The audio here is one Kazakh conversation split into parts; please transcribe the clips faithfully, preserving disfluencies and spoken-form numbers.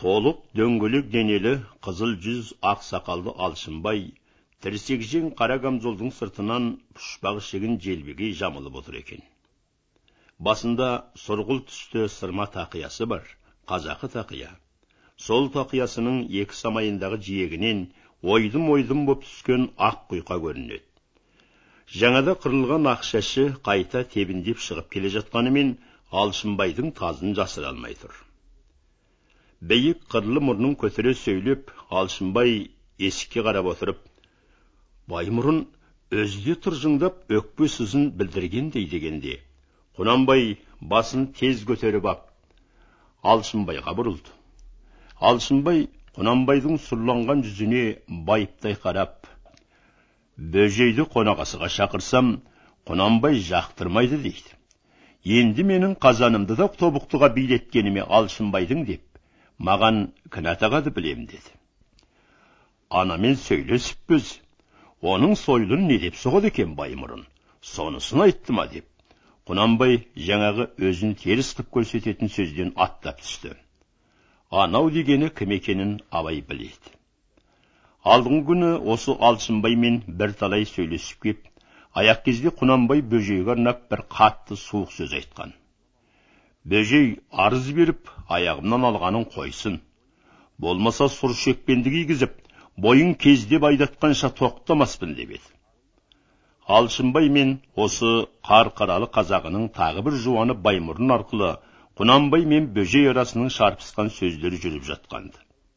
Толық дөңгелек денелі, қызыл жүз ақ сақалды Алшынбай, тірсекжең қара камзолдың сыртынан пұшпағы шегін желбегей жамылып отыр екен. Басында сұрғыл түсті сырма тақиясы бар, қазақы тақия. Сол тақиясының екі самайындағы жиегінен ойдым-ойдым боп түскен ақ құйқа көрінеді. Жаңада қырылған ақ шашы қайта тебіндеп шығып келе жатқанымен Алшынбайдың тазын жасыра алмай тұр. Бейік қырлы мұрнын көтере сөйлеп, Алшынбай есікке қарап отырып, Баймұрын өзде тұржыңдап өкпе сызын білдіргендей дегенде, Құнанбай басын тез көтеріп ап, Алшынбайға бұрылды. Алшынбай Құнанбайдың сұрланған жүзіне байыптай қарап, бөжейді қонағасыға шақырсам, Құнанбай жақтырмайды дейді. Енді менің қазанымды да тобықтыға билеткеніме Алшынбайдың деп, маған кінә тағады білем деді. Анамен сөйлесіппіз, оның сойылын не деп соғады екен Баймұрын, сонысын айтты ма деп. Құнанбай жаңағы өзін теріс қып көрсететін сөзден аттап түсті. Анау дегені кім екенін абай біледі. Алдыңғы күні осы Алшынбаймен бір талай сөйлесіп кеп, аяқ кезде Құнанбай бөжейге арнап бір қатты суық сөз айтқан. Бөжей арыз беріп, аяғымнан алғанын қойсын. Болмаса сұр шекпенді кигізіп, бойын кездеп айдатқанша тоқтамаспын деп еді. Алшынбай мен осы қарқаралы қазағының тағы бір жуаны Баймұрын арқылы Құнанбай мен бөжей арасының шарпысқан сөздері жүріп жатқанды.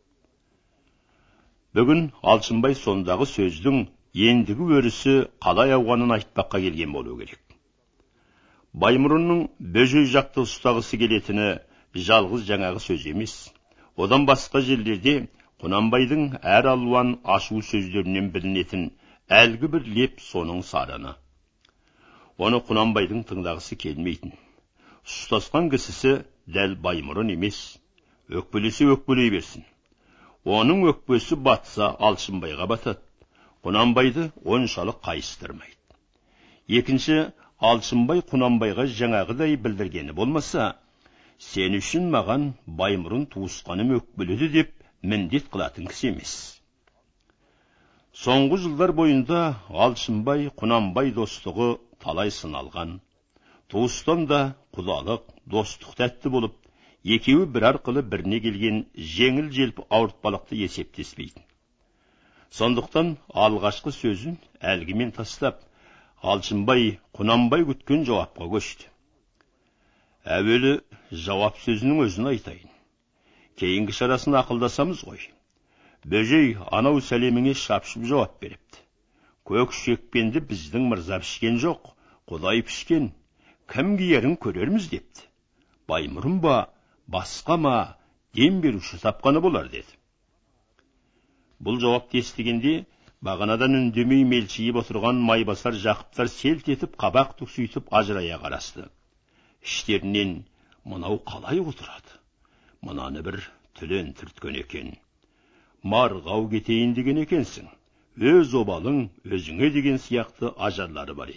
Бүгін Алшынбай сондағы сөздің ендігі өрісі қалай ауғанын айтпаққа келген болу керек. Баймұрынның бөжей жақты ұстағысы келетіні жалғыз жаңағы сөз емес. Одан басқа жерлерде Құнанбайдың әр алуан ашу сөздерінен білінетін әлгі бір леп соның сарыны. Оны Құнанбайдың тыңдағысы келмейтін. Ұстасқан кісісі дәл Баймұрын емес. Өкпелесе өкпелей берсін. Оның өкпесі батса Алшынбайға батады. Құнанбайды оншалық қайыстырмайды. Екінші, Алшынбай Құнанбайға жаңағыдай білдіргені болмаса, сен үшін маған Баймұрын туысқаным өкпеледі деп міндет қылатын кісі емес. Соңғы жылдар бойында Алшынбай Құнанбай достығы талай сыналған. Туыстан да құдалық, достық тәтті болып, екеуі бір арқылы біріне келген жеңіл желп ауыртпалықты есептеспейді. Сондықтан алғашқы сөзін әлгімен тастап, Алшынбай Құнанбай күткен жауапқа көшті. Әуелі жауап сөзінің өзін айтайын. Кейінгі шарасын ақылдасамыз ғой. Бөжей анау сәлеміңе шапшып жауап беріпті. Көк шекпенді біздің мырза пішкен жоқ, Құдай пішкен. Кім киерін көрерміз депті. Баймұрын ба, басқа ма, дем беруші тапқаны болар деді. Бұл жауапты естігенде бағанадан үндемей мелшиіп отырған майбасар Жақыптар селт етіп қабақ түкситіп ажырая қарасты. Іштерінен мынау қалай отырады? Мынаны бір түлен түрткен екен. Марғау кетейін деген екенсің. Өз обалың өзіңе деген сияқты ажарлары бар еді.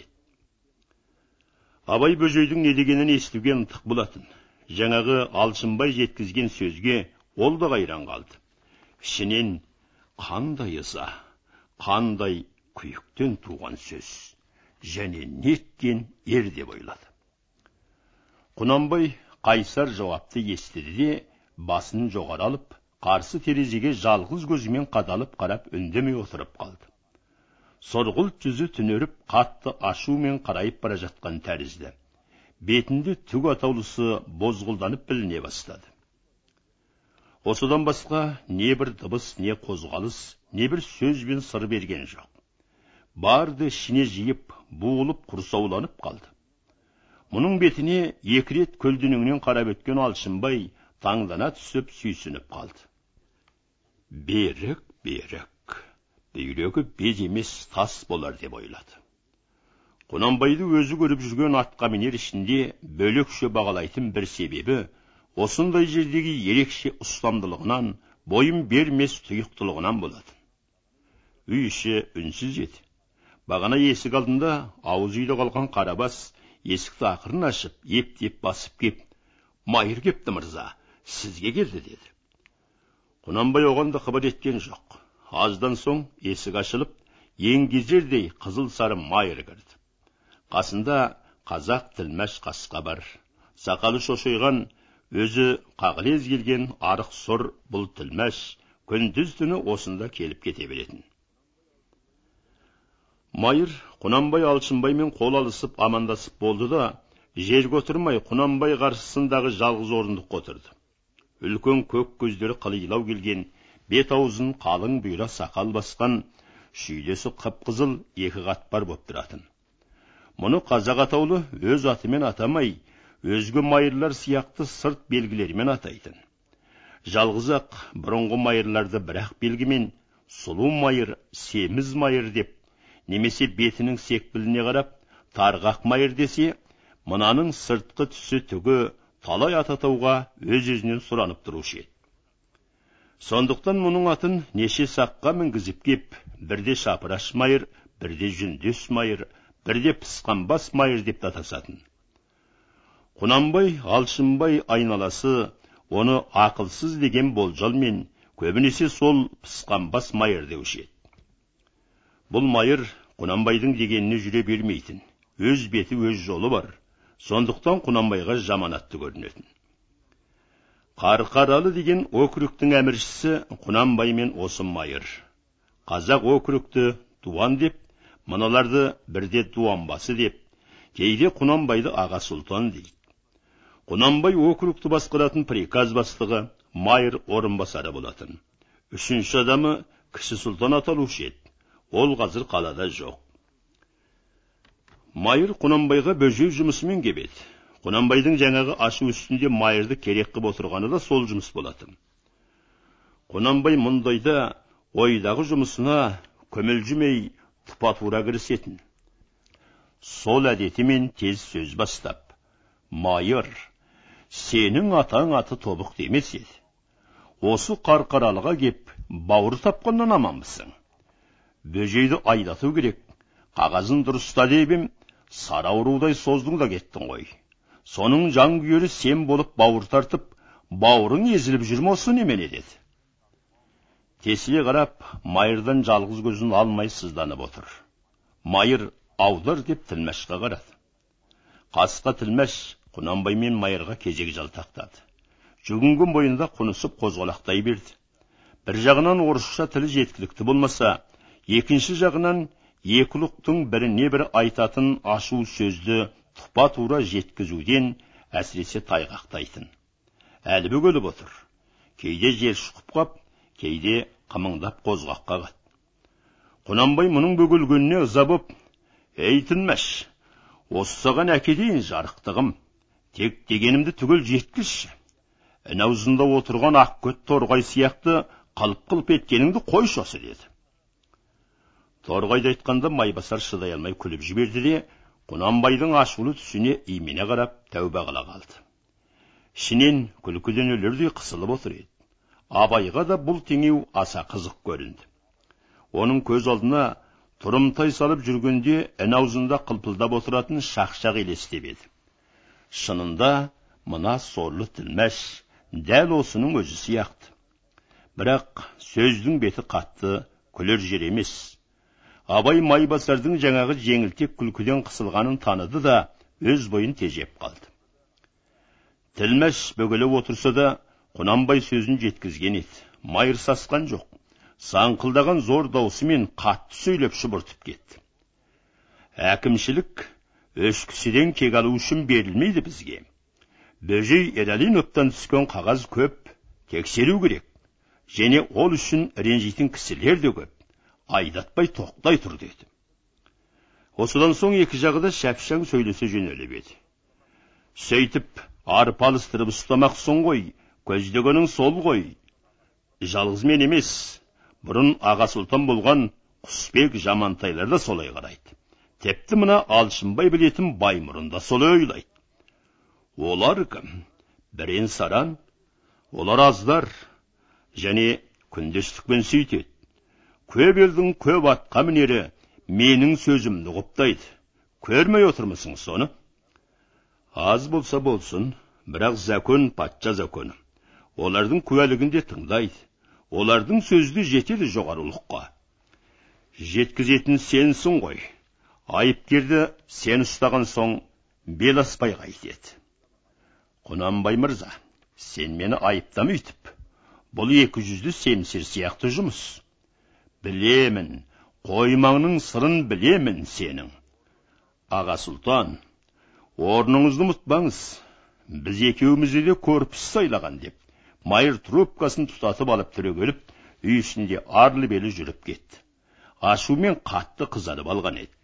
Абай бөжейдің не дегенін естуге ынтық болатын. Жаңағы Алшынбай жеткізген сөзге ол да қайран қалды. Ішінен қандай ыза, қандай күйіктен туған сөз, және неткен ер деп ойлады. Құнанбай қайсар жауапты естіді де, басын жоғары алып, қарсы терезеге жалғыз көзімен қадалып қарап үндемей отырып қалды. Сұрғылт жүзі түнеріп, қатты ашумен қарайып бара жатқан тәрізді. Бетінде түк атаулысы бозғылданып біліне бастады. Осыдан басқа не бір дыбыс, не қозғалыс, не бір сөз бен сыр берген жоқ. Барды ішіне жиып, буылып, құрсауланып қалды. Мұның бетіне екі рет көлденеңнен қарап өткен Алшынбай таңдана түсіп сүйсініп қалды. Берік, берік, бүйрегі без емес тас болар деп ойлады. Құнанбайды өзі көріп жүрген атқамінер ішінде бөлекше бағалайтын бір себебі, осындай жердегі ерекше ұстамдылығынан, бойын бермес тұйықтылығынан болады. Үй іші үнсіз еді. Бағана есік алдында ауыз үйде қалған Қарабас есікті ақырын ашып, ептеп басып кеп, майыр кепті мырза, сізге келді деді. Құнанбай оғанда қыбыр еткен жоқ. Аздан соң есік ашылып, еңгезердей қызыл сары майыр кірді. Қасында қазақ тілмәш қасқа бар. Сақалы шошайған, өзі қағылез келген арық сұр бұл тілмәш күндіз түні осында келіп кете беретін. Майыр Құнанбай Алшынбаймен қол алысып амандасып болды да, жерге отырмай Құнанбай қаршысындағы жалғыз орындыққа отырды. Үлкен көк көздері қылилау келген, бет аузын қалың бұйра сақал басқан, шүйдесі қып-қызыл екі қатпар боп тұратын. Мұны қазақ атаулы өз атымен атамай, өзге майырлар сияқты сырт белгілерімен атайтын. Жалғыз ақ бұрынғы майырларды бір-ақ белгімен сұлу майыр, семіз майыр деп, немесе бетінің секпіліне қарап, тарғақ майыр десе, мынаның сыртқы түсі түгі талай ататауға өз-өзінен сұранып тұрушы еді. Сондықтан мұның атын неше саққа мінгізіп кеп, бірде шапыраш майыр, бірде жүндес майыр, бірде пысқанбас майыр деп атасатын. Құнанбай Алшынбай айналасы оны ақылсыз деген болжалмен көбінесе сол пысқанбас майыр деуші еді. Бұл майыр Құнанбайдың дегеніне жүре бермейтін, өз беті өз жолы бар. Сондықтан Құнанбайға жаманатты көрінетін. Қарқаралы деген округтің әміршісі Құнанбаймен осы майыр. Қазақ округті дуан деп, мыналарды бірде дуанбасы деп, кейде Құнанбайды аға сұлтан дейді. Құнанбай округті басқаратын приказ бастығы майыр орынбасары болатын. Үшінші адамы кіші сұлтан аталушы еді. Ол қазір қалада жоқ. Майыр Құнанбайға бөжей жұмысымен кебеді. Құнанбайдың жаңағы ашу үстінде майырды керек қып отырғаны да сол жұмыс болатын. Құнанбай мұндайда ойдағы жұмысына көмілжімей тұпа-тура кірісетін. Сол әдетімен тез сөз бастап, майыр, сенің атаң аты тобық демес еді. Осы Қарқаралыға кеп бауыр тапқаннан аманбысың. Бөжейді айдату керек, қағазын дұрыста дебім, сары аурудай создың да кеттің ғой. Соның жан күйері сен болып бауыр тартып, бауырың езіліп жүрме осы немене деді. Тесіле қарап, майырдан жалғыз көзін алмай сызданып отыр. Майыр аудар деп тілмәшқа қарады. Қасқа тілмәш Құнанбай мен майырға кезек жалтақтады. Жүгінген бойында құнысып қозғалақтай берді. Бір жағынан орысша тілі жеткілікті болмаса, екінші жағынан екі ұлықтың біріне бір айтатын ашу сөзді тұпа-тура жеткізуден әсіресе тайғақтайтын. Әлі бөгеліп отыр. Кейде жер шұқып қап, кейде қымыңдап қозғаққа қат. Құнанбай мұның бөгелгеніне ыза боп, «Ей тілмәш, осы саған әкедейін жарықтығым, тек дегенімді түгел жеткізші. Інаузында отырған ақкөт торғай сияқты қылып-қылып еткеніңді қойшы осы» деді. Торғайды айтқанда майбасар шыдай алмай күліп жіберді де, Құнанбайдың ашулы түсіне имене қарап тәуба қыла қалды. Ішінен күлкіден өлердей қысылып отыр еді. Абайға да бұл теңеу аса қызық көрінді. Оның көз алдына тұрымтай салып жүргенде ін аузында қылпылдап отыратын шақшақ елестеп еді. Шынында мына сорлы тілмәш дәл осының өзі сияқты. Бірақ сөздің беті қатты, күлер жер емес. Абай майбасардың жаңағы жеңілтек күлкіден қысылғанын таныды да өз бойын тежеп қалды. Тілмәш бөгеліп отырса да Құнанбай сөзін жеткізген еді. Майыр сасқан жоқ. Саңқылдаған зор даусымен қатты сөйлеп шұбыртып кетті. Әкімшілік өз кісіден кек алу үшін берілмейді бізге. Бөжей Ералиновтан түскен қағаз көп, тексеру керек. Және ол үшін ренжитін кісілер де көп. Айдатпай тоқтай тұр деді. Осыдан соң екі жағыда шәпшаң сөйлесе жөнеліп еді. Сөйтіп, арпалыстырып ұстамақсың ғой, көздегенің сол ғой. Жалғыз мен емес, бұрын аға сұлтан болған Құсбек Жамантайлар да солай қарайды. Тепті мына Алшынбай білетін Баймұрын да солай ойлайды. Олар кім? Бірен саран, олар аздар, және күндестікпен сөйтеді. Көп елдің көп атқа мінері менің сөзімді құптайды. Көрмей отырмысың соны? Аз болса болсын, бірақ закон патша законы. Олардың куәлігінде тыңдайды. олардың сөзді жетеді жоғарылыққа. Жеткізетін сенсің ғой. Айыпкерді сен ұстаған соң бел аспай қайтеді. Құнанбай мырза, сен мені айыптама үйтіп. Бұл екі жүзді семсер сияқты жұмыс. Білемін, қоймаңның сырын білемін сенің. Аға сұлтан, орныңызды ұмытпаңыз. Біз екеумізді де көрпіс сайлаған деп, майыр трубкасын тұтатып алып түрегеліп, үй ішінде арлы-белі жүріп кетті. Ашумен қатты қызарып алған еді.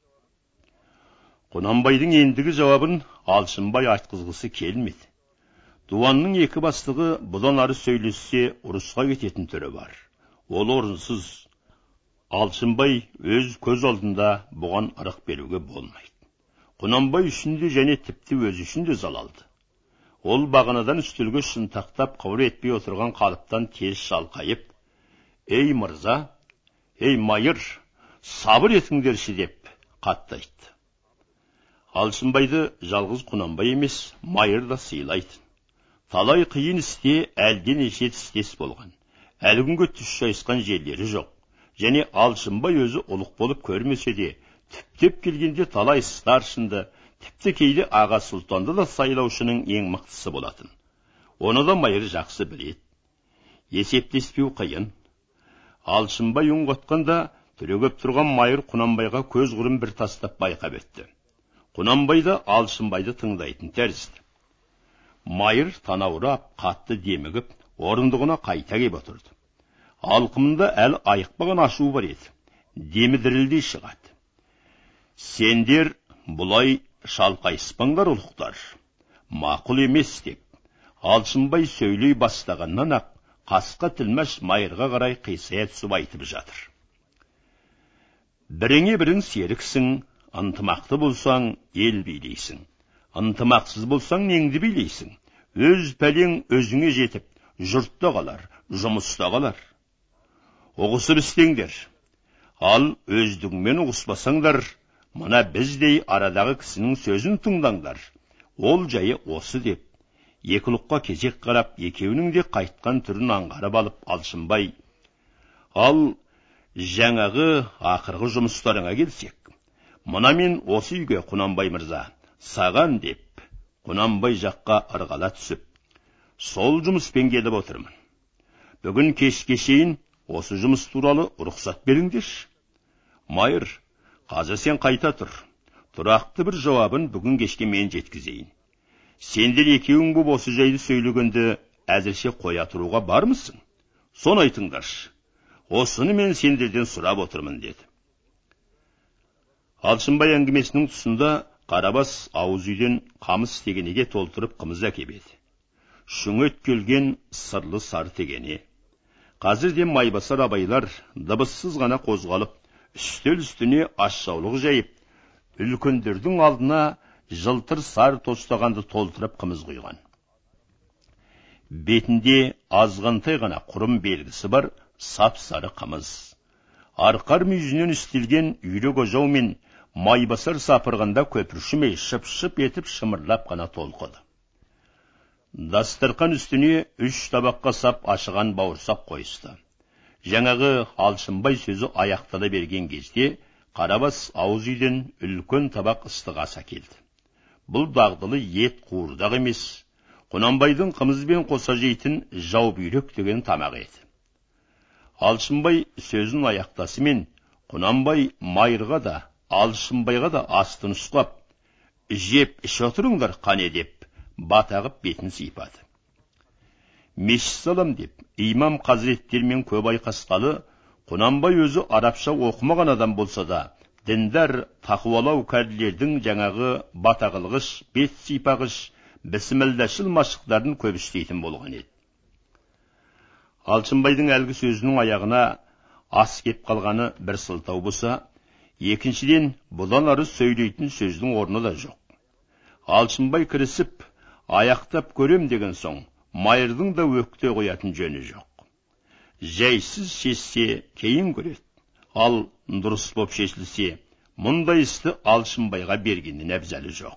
Құнанбайдың ендігі жауабын Алшынбай айтқызғысы келмеді. Дуанның екі бастығы бұдан ары сөйлессе ұрысқа кететін түрі бар. Ол орынсыз. Алшынбай өз көз алдында бұған ырық беруге болмайды. Құнанбай үшін де және тіпті өз үшін де залалды. Ол бағанадан үстелге шынтақтап қыбыр етпей отырған қалыптан тез шалқайып, «Ей мырза, ей майыр, сабыр етіңдерші» деп қатты айтты. Алшынбайды жалғыз Құнанбай емес, майыр да сыйлайтын. Талай қиын істе әлден еше істес болған. Әлі күнге түс шайысқан жерлері жоқ. Және Алшынбай өзі ұлық болып көрмесе де, түптеп келгенде талай старшынды, тіпті кейде аға сұлтанды да сайлаушының ең мықтысы болатын. Оны да майыр жақсы біледі. Есептеспеу қиын. Алшынбай үн қатқанда түрегеп тұрған майыр Құнанбайға көз құрым бір тастап байқап етті. Құнанбай да Алшынбайды тыңдайтын тәрізді. Майыр танаурап, қатты демігіп, орындығына қайта кеп отырды. Алқымында әл айықпаған ашу бар еді. Демі дірілдей шығады. Сендер бұлай шалқайыспаңдар ұлықтар. Мақұл емес деп. Алшынбай сөйлей бастағаннан ақ қасқа тілмәш майырға қарай қисая түсіп айтып жатыр. Біріңе бірің серіксің, ынтымақты болсаң ел билейсің. Ынтымақсыз болсаң неңді билейсің. Өз пәлең өзіңе жетіп, жұртта қалар, жұмыста қалар. Ұғысып істеңдер. Ал өздігіңмен ұғыспасаңдар, мына біздей арадағы кісінің сөзін тыңдаңдар. Ол жайы осы деп, екі ұлыққа кезек қарап, екеуінің де қайтқан түрін аңғарып алып Алшынбай, ал жаңағы ақырғы жұмыстарыңа келсек, мына мен осы үйге Құнанбай мырза, саған деп, Құнанбай жаққа ырғала түсіп, сол жұмыспен келіп отырмын. Бүгін кешке шейін осы жұмыс туралы рұқсат беріңдерші. Майыр, қазір сен қайта тұр. Тұрақты бір жауабын бүгін кешке мен жеткізейін. Сендер екеуің боп осы жайды сөйлегенде әзірше қоя тұруға бармысың? Соны айтыңдаршы. Осыны мен сендерден сұрап отырмын деді. Алшынбай әңгімесінің тұсында Қарабас ауыз үйден қамыс тегенеге толтырып қымыз әкеледі. Шүңет келген сырлы сар тегене. Қазірде майбасар абайлар дыбыссыз ғана қозғалып, үстел үстіне ашшаулық жайып, үлкендердің алдына жылтыр сар тостағанды толтырып қымыз құйған. Бетінде азғантай ғана құрым белгісі бар сап-сары қымыз. Арқар мүйізінен үстелген үйрек ожау мен майбасар сапырғанда көпіршімей шып-шып етіп шымырлап қана толқыды. Дастарқан үстіне үш табаққа сап ашыған бауырсақ қойысты. Жаңағы Алшынбай сөзі аяқтала берген кезде Қарабас ауыз үйден үлкен табақ ыстық ас әкелді. Бұл дағдылы ет қуырдақ емес, Құнанбайдың қымызбен қоса жейтін жау бүйрек деген тамақ еді. Алшынбай сөзін аяқтасымен Құнанбай майырға да Алшынбайға да асты нұсқап, жеп іш отырыңдар қане деп, батағып бетін сипады. Мешіт салам деп, имам қазіреттермен көп айқасқалы, Құнанбай өзі арабша оқымаған адам болса да, діндар тақуалау кәрілердің жаңағы батағылғыш, бет сипағыш, бісмілдашыл машықтарын көп істейтін болған еді. Алшынбайдың әлгі сөзінің аяғына ас кеп қалғаны бір сылтау болса, екіншіден бұдан ары сөйлейтін сөздің орны да жоқ. Алшынбай кірісіп, аяқтап көрем деген соң, майырдың да өкте қоятын жөні жоқ. Жайсыз шешсе кейін көреді, ал дұрыс боп шешілсе, мұндай істі Алшынбайға бергеннен әбзәлі жоқ.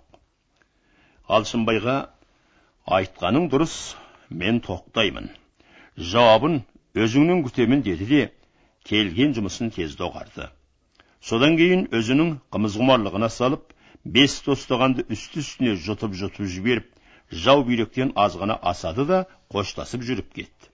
Алшынбайға айтқаның дұрыс, мен тоқтаймын. Жауабын өзіңнің күтемін деді де, келген жұмысын тез доғарды. Содан кейін өзінің қымызғұмарлығына салып, бес тостағанды үсті-үстіне жұтып-жұтып жіберіп, жау бүйректен азғана асады да қоштасып жүріп кетті.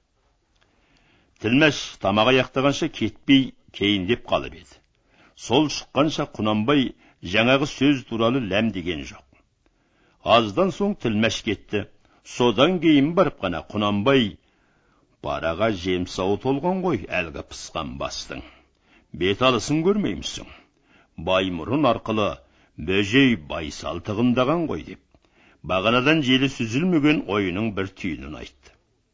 Тілмәш тамақ аяқтағанша кетпей кейіндеп қалып еді. Сол шыққанша Құнанбай жаңағы сөз туралы ләм деген жоқ. Аздан соң тілмәш кетті. Содан кейін барып қана Құнанбай: «Параға жемсауы толған ғой әлгі пысқан бастың. Бет алысын көрмеймісің? Баймұрын арқылы бөжей Байсал тығындаған ғой» деп, бағанадан желі сүзілмеген ойының бір түйінін айтты.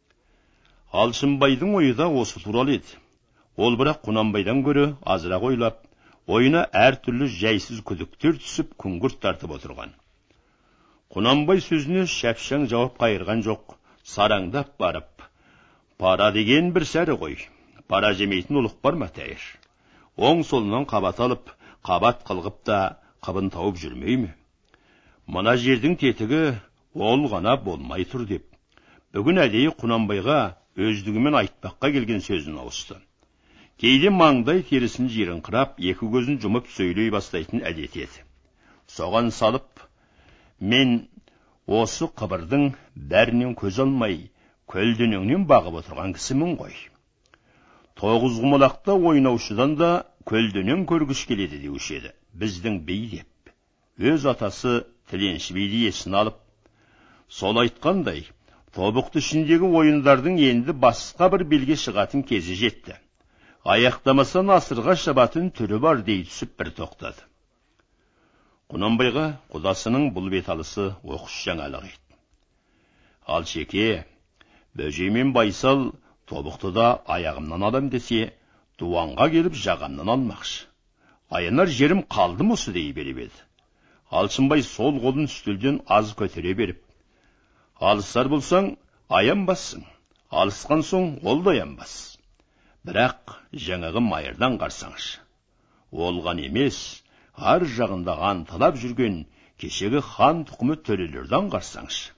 Алшынбайдың ойы да осы туралы еді. Ол бірақ Құнанбайдан гөрі азырақ ойлап, ойына әртүрлі жайсыз күдіктер түсіп күңгірт тартып отырған. Құнанбай сөзіне шапшаң жауап қайырған жоқ, сараңдап барып: «Пара деген бір сәрі ғой. Пара жемейтін ұлық бар ма тәйір? Оң солынан қабат алып, қабат қылғып та қыбын тауып жүрмей ме? Мына жердің тетігі ол ғана болмай тұр» деп, бүгін әдейі Құнанбайға өздігімен айтпаққа келген сөзін ауысты. Кейде маңдай терісін жиренқырап, екі көзін жұмып сөйлей бастайтын әдет еді. Соған салып: «Мен осы қыбырдың бәрінен көз алмай, көлденеңнен бағып отырған кісімін ғой. Тоғызқұмалақта ойнаушыдан да көлденең көргіш келеді деуші еді біздің бей» деп, өз атасы Тіленші биді есін алып, сол айтқандай, тобықты ішіндегі ойындардың енді басқа бір белге шығатын кезі жетті. Аяқтамаса насырға шабатын түрі бар дей түсіп бір тоқтады. Құнанбайға құдасының бұл беталысы оқыс жаңалық еді. «Ал шеке, бөжей мен Байсал тобықтыда аяғымнан алам десе, дуанға келіп жағамнан алмақшы. Аянар жерім қалды мұсы» дей беріп еді. Алшынбай сол қолын үстелден аз көтере беріп: «Алысар болсаң аянбассың, алысқан соң ол да аянбас. Бірақ жаңағы майырдан қарсаңшы. Олған емес, ар жағында анталап жүрген кешегі хан тұқымы төрелерден қарсаңшы.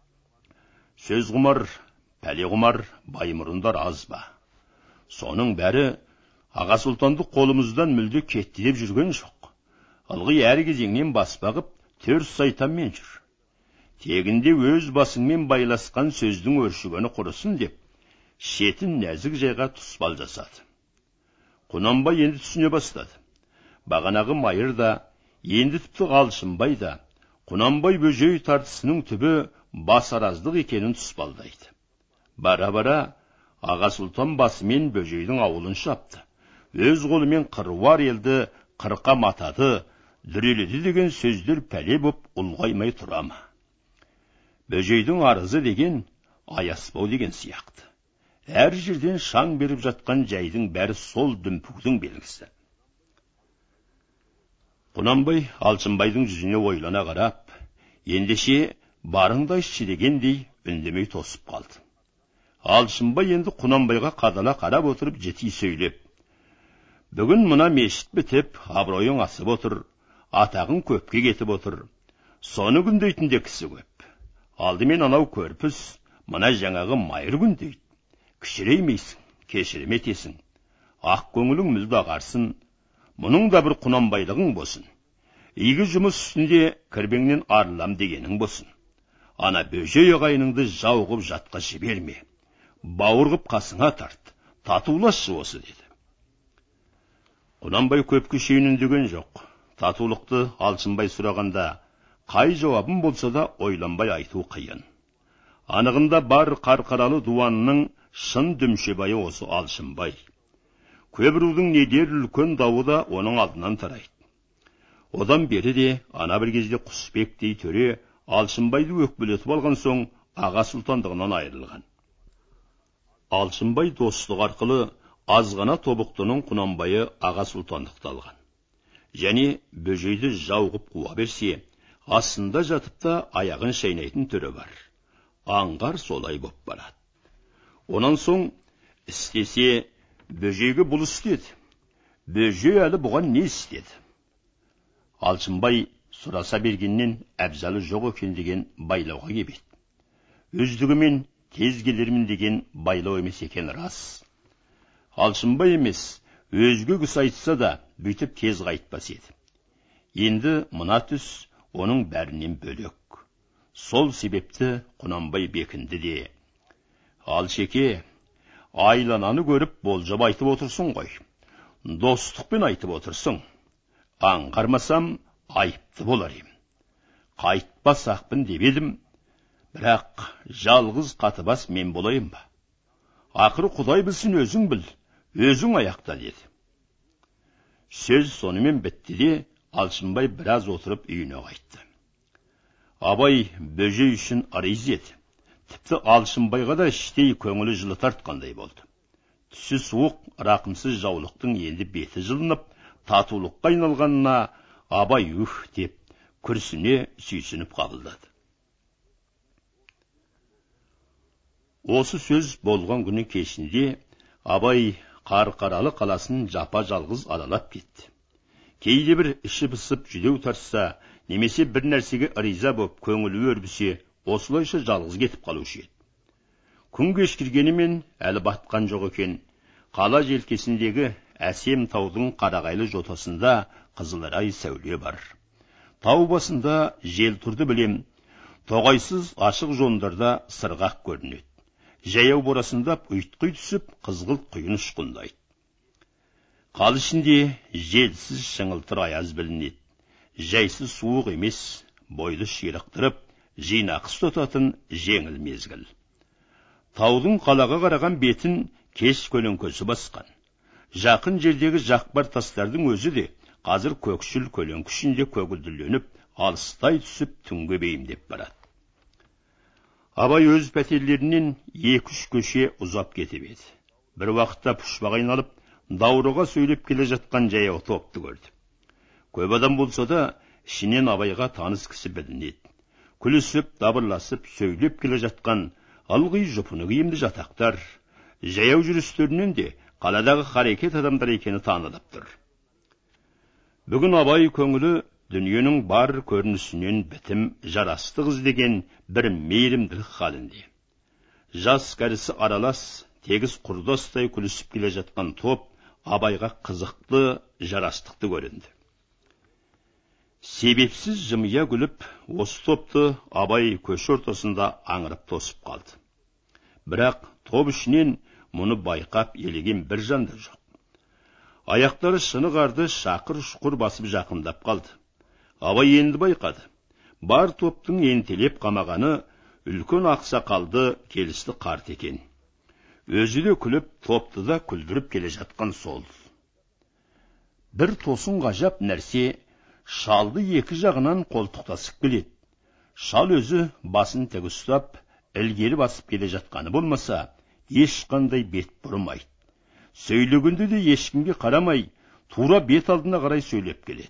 Сөз құмар, пәле құмар Баймұрындар аз ба? Соның бәрі Аға Сұлтанды қолымыздан мүлде кетті деп жүрген жоқ. Ылғи әр кезеңнен баспағып, төр сайтанмен жүр. Тегінде өз басыңмен байласқан сөздің өршігені құрысын» деп, шетін нәзік жайға тұспал жасады. Құнанбай енді түсіне бастады. Бағанағы майыр да, енді тіпті Алшынбай да, Құнанбай бөжей тартысының түбі басараздық екенін тұспалдайды. Бара-бара Аға Сұлтан басымен бөжейдің ауылын шапты. Өз қолымен қыруар елді қырқа матады, дүреледі деген сөздер пәле боп ұлғаймай тұра ма? Бөжейдің арызы деген аяспау деген сияқты. Әр жерден шаң беріп жатқан жайдың бәрі сол дүмпудің белгісі. Құнанбай Алшынбайдың жүзіне ойлана қарап, ендеше барыңдайшы дегендей үндемей тосып қалды. Алшынбай енді Құнанбайға қадала қарап отырып жети сөйлеп: «Бүгін мына мешіт бітіп, абыройың асып отыр, атағың көпке кетіп отыр. Соны күндейтінде кісі көп. Алдымен анау көрпіс, мына жаңағы майыр күндейді. Кішіреймейсің, кешірім етесің. Ақ көңілің мүлде ағарсын. Мұның да бір Құнанбайлығың болсын. Игі жұмыс үстінде кірбеңнен арылам дегенің болсын. Ана бөжей ағайыныңды жау қып жатқа жіберме. Бауыр қып қасыңа тарт, татулашы осы» деді. Құнанбай көпке шейін үндеген жоқ. Татулықты Алшынбай сұрағанда қай жауабын болса да ойланбай айту қиын. Анығында бар қарқаралы дуанының шын дүмшебайы осы Алшынбай. Көбірудың недер үлкен дауы да оның алдынан тарайды. Одан бері де ана бір кезде Құсбек дей төре Алшынбайды өкпелетіп алған соң Аға Сұлтандығынан айырылған. Алшынбай достық арқылы азғана тобықтының Құнанбайы Аға Сұлтандықты алған. Және бөжейді жау қып қуа берсе, астында жатып та аяғын шайнайтын түрі бар. Аңғар солай боп барады. Онан соң істесе бөжейге бұл істеді. Бөжей әлі бұған не істеді? Алшынбай сұраса бергеннен әбзалы жоқ екен деген байлауға кебеді. Өздігімен тез келермін деген байлау емес екен рас. Алшынбай емес, өзге кісі айтса да, бүйтіп тез қайтпас еді. Енді мына түс оның бәрінен бөлек. Сол себепті Құнанбай бекінді де: Алшеке, айлананы көріп болжап айтып отырсын ғой. Достықпен айтып отырсың. Аңғармасам айыпты болар ем. Қайтпас ақпын деп едім, бірақ жалғыз қатыбас мен болайын ба? Ақыры Құдай білсін, өзің біл, өзің аяқта деді. Сөз сонымен бітті де, Алшынбай біраз отырып үйіне қайтты. Абай бөжей үшін арыз еді. Тіпті Алшынбайға да іштей көңілі жылы тартқандай болды. Түсі суық, рақымсыз жаулықтың енді беті жылынып, татулыққа айналғанына Абай үх деп, күрсіне сүйсініп қабылдады. Осы сөз болған күні кешінде Абай Қарқаралы қаласын жапа жалғыз аралап кетті. Кейде бір іші пысып жүдеу тарса, немесе бір нәрсеге ыриза боп көңілі өрбісе, осылайша жалғыз кетіп қалушы еді. Күн кешкіргенімен әлі батқан жоқ екен. Қала желкесіндегі әсем таудың қарағайлы жотасында қызыларай сәуле бар. Тау басында жел тұрды білем, тоғайсыз ашық жондарда сырғақ көрінеді. Жаяу борасындап ұйтқи түсіп, қызғылт құйын ұшқындайды. Қал ішінде желсіз шыңылтыр аяз білінеді. Жайсыз суық емес, бойды ширықтырып, жинақы ұстататын жеңіл мезгіл. Таудың қалаға қараған бетін кеш көлеңкесі басқан. Жақын жердегі жақпар тастардың өзі де қазір көкшіл көлеңке ішінде көгілдірленіп, алыстай түсіп түнге бейімдеп барады. Абай өз пәтерлерінен екі-үш көше ұзап кетіп еді. Бір уақытта пұшпақ айналып, даурыға сөйлеп келе жатқан жаяу топты көрді. Көп адам болса да, ішінен Абайға таныс кісі білінеді. Күлісіп, дабырласып, сөйлеп келе жатқан ылғи жұпыны киімді жатақтар, жаяу жүрістерінен де қаладағы харекет адамдар екені танылып тұр. Бүгін Абай көңілі дүниенің бар көрінісінен бітім, жарастық іздеген бір мейірімділік халінде. Жас кәрісі аралас, тегіс құрдастай күлісіп келе жатқан топ Абайға қызықты, жарастықты көрінді. Себепсіз жымия күліп, осы топты Абай көше ортасында аңырып тосып қалды. Бірақ топ ішінен мұны байқап елеген бір жан да жоқ. Аяқтары шыны қарды шақыр-шұқыр басып жақындап қалды. Абай енді байқады. Бар топтың ентелеп қамағаны үлкен ақсақалды келісті қарт екен. Өзі де күліп, топты да күлдіріп келе жатқан сол. Бір тосын ғажап нәрсе шалды екі жағынан қолтықтасып келеді. Шал өзі басын тік ұстап, ілгері басып келе жатқаны болмаса, ешқандай бет бұрмайды. Сөйлегенде де ешкімге қарамай, тура бет алдына қарай сөйлеп келеді.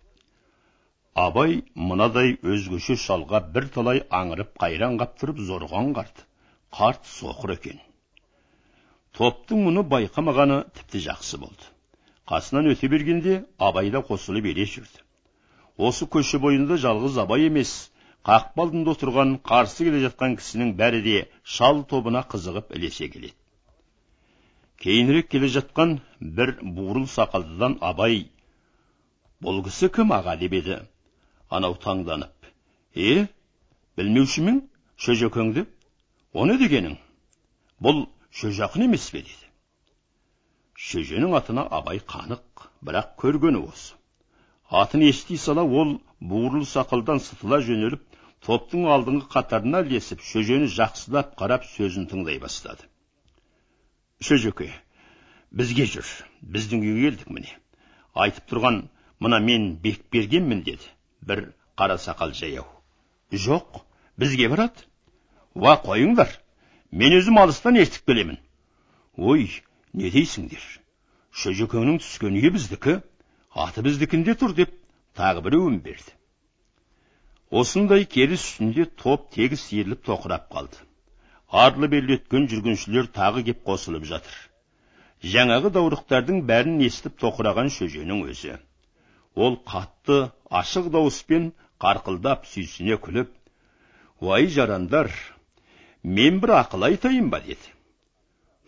Абай мынадай өзгеше шалға бір талай аңырып қайран қаптырып зорған қарт. Қарт соқыр екен. Топтың мұны байқамағаны тіпті жақсы болды. Қасынан өте бергенде Абай да қосылып ере жүрді. Осы көше бойында жалғыз Абай емес, қақпалдында отырған қарсы келе жатқан кісінің бәрі де шал тобына қызығып ілесе келеді. Кейінірек келе жатқан бір бурыл сақалдыдан Абай: "Бұл кісі кім аға?" деп еді. Анау таңданып: "Е, білмеуші мен шөжекеңді? Оны дегенің? Бұл шөжақын емес пе?" деді. Шөженің атына Абай қанық, бірақ көргені осы. Атын ести сала ол бурыл сақалдан сытыла жөнеліп, топтың алдыңғы қатарына ілесіп, шөжені жақсылап қарап сөзін тыңдай бастады. "Шөжеке, бізге жүр, біздің үйге келдік міне. Айтып тұрған мына мен Бекбергенмін" деді бір қара сақал жаяу. "Жоқ, бізге барады." "Ва, қойыңдар, мен өзім алыстан ертіп келемін." "Ой, не дейсіңдер? Шөжекеңнің түскен үйі біздікі, аты біздікінде тұр" деп тағы біреуін берді. Осындай керіс үстінде топ тегіс иіріліп тоқырап қалды. Арлы-берлі өткен жүргіншілер тағы кеп қосылып жатыр. Жаңағы даурықтардың бәрін естіп тоқыраған шөженің өзі. Ол қатты, ашық дауыспен қарқылдап сүйсіне күліп: "Уай жарандар, мен бір ақыл айтайын ба" деді.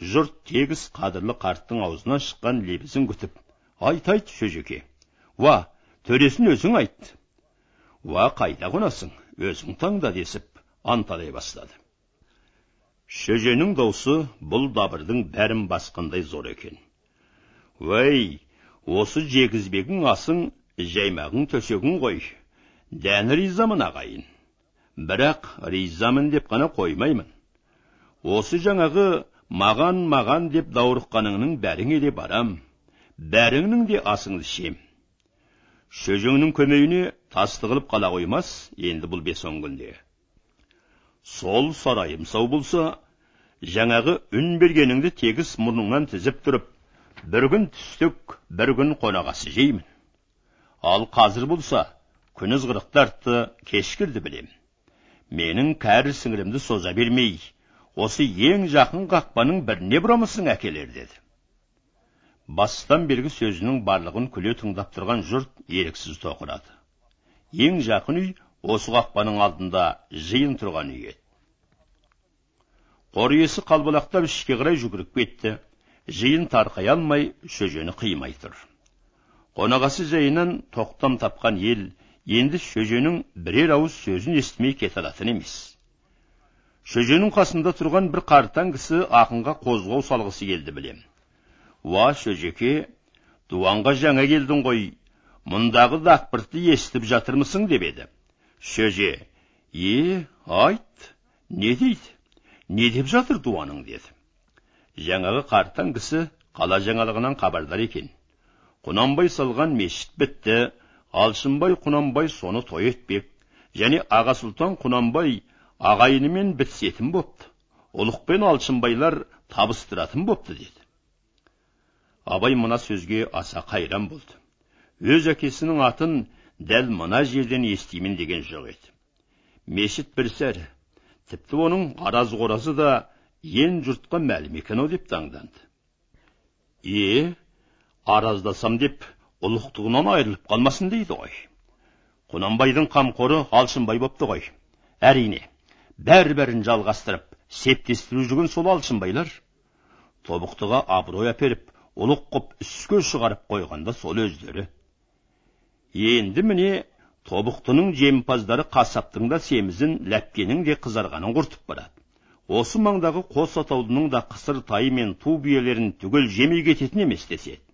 жұрт тегіс қадірлі қарттың аузынан шыққан лебізін күтіп, айт айт шөжеке, уа, төресін өзің айт. Уа, қайда қонасың, өзің таңда десіп, анталай бастады. Шөженің даусы бұл дабырдың бәрін басқандай зор екен. Уәй, осы жегізбегің асың, жаймағың төсегің ғой, дәні ризамын ағайын. Бірақ ризамын деп қана қоймаймын. Осы жаңағы маған-маған деп даурыққаныңның бәріңе де барам, бәріңнің де асыңды шем. Шөжеңнің көмейіне тастығылып қала қоймас, енді бұл бес он күнде. Сол сарайым сау болса, жаңағы үн бергеніңді тегіс мұрныңнан тізіп тұрып, бір күн түстік, бір күн қонағасы жеймін. Ал қазір болса, күн ызғырықты артты, кешкірді білем. Менің кәрі сіңірімді соза бермей, осы ең жақын қақпаның біріне бұрамысың әкелер деді. Бастан бергі сөзінің барлығын күле тыңдап тұрған жұрт еріксіз тоқырады. Ең жақын үй осы қақпаның алдында жиын тұрған үй еді. Қор иесі қалбалақтап ішке қарай жүгіріп кетті. Жиын тарқай алмай, шөжені қимай тұр. Қонағасы жайынан тоқтам тапқан ел енді шөженің бірер ауыз сөзін естімей кете алатын емес. Шөженің қасында тұрған бір қартаң кісі ақынға қозғау салғысы келді білем. Уа шөжеке, дуанға жаңа келдің ғой, мұндағы дақпыртты естіп жатырмысың деп еді. Шөже, е, айт, не дейді, не деп жатыр дуаның деді. Жаңағы қартаң кісі қала жаңалығынан хабардар екен. Құнанбай салған мешіт бітті, Алшынбай Құнанбай соны той етпек, және Аға Сұлтан Құнанбай ағайынымен бітсетін бопты. Ұлықпен Алшынбайлар табыстыратын бопты деді. Абай мына сөзге аса қайран болды. Өз әкесінің атын дәл мына жерден естимін деген жоқ еді. Мешіт бір сәрі, тіпті оның араз-қоразы да ен жұртқа мәлім екен-ау деп таңданды. Е, араздасам деп ұлықтығынан айырылып қалмасын дейді ғой. Құнанбайдың қамқоры Алшынбай бопты ғой. Әрине, бәрі-бәрін жалғастырып, септестіру жүрген сол Алшынбайлар. Тобықтыға абырой әперіп, ұлық қып үске шығарып қойғанда сол өздері. Енді міне, Тобықтының жемпаздары қасаптың да семізін, ләпкенің де қызарғанын құртып барады. Осы маңдағы қос атаудының да қысыр тайы мен ту биелерін түгел жемей кететін емес деседі.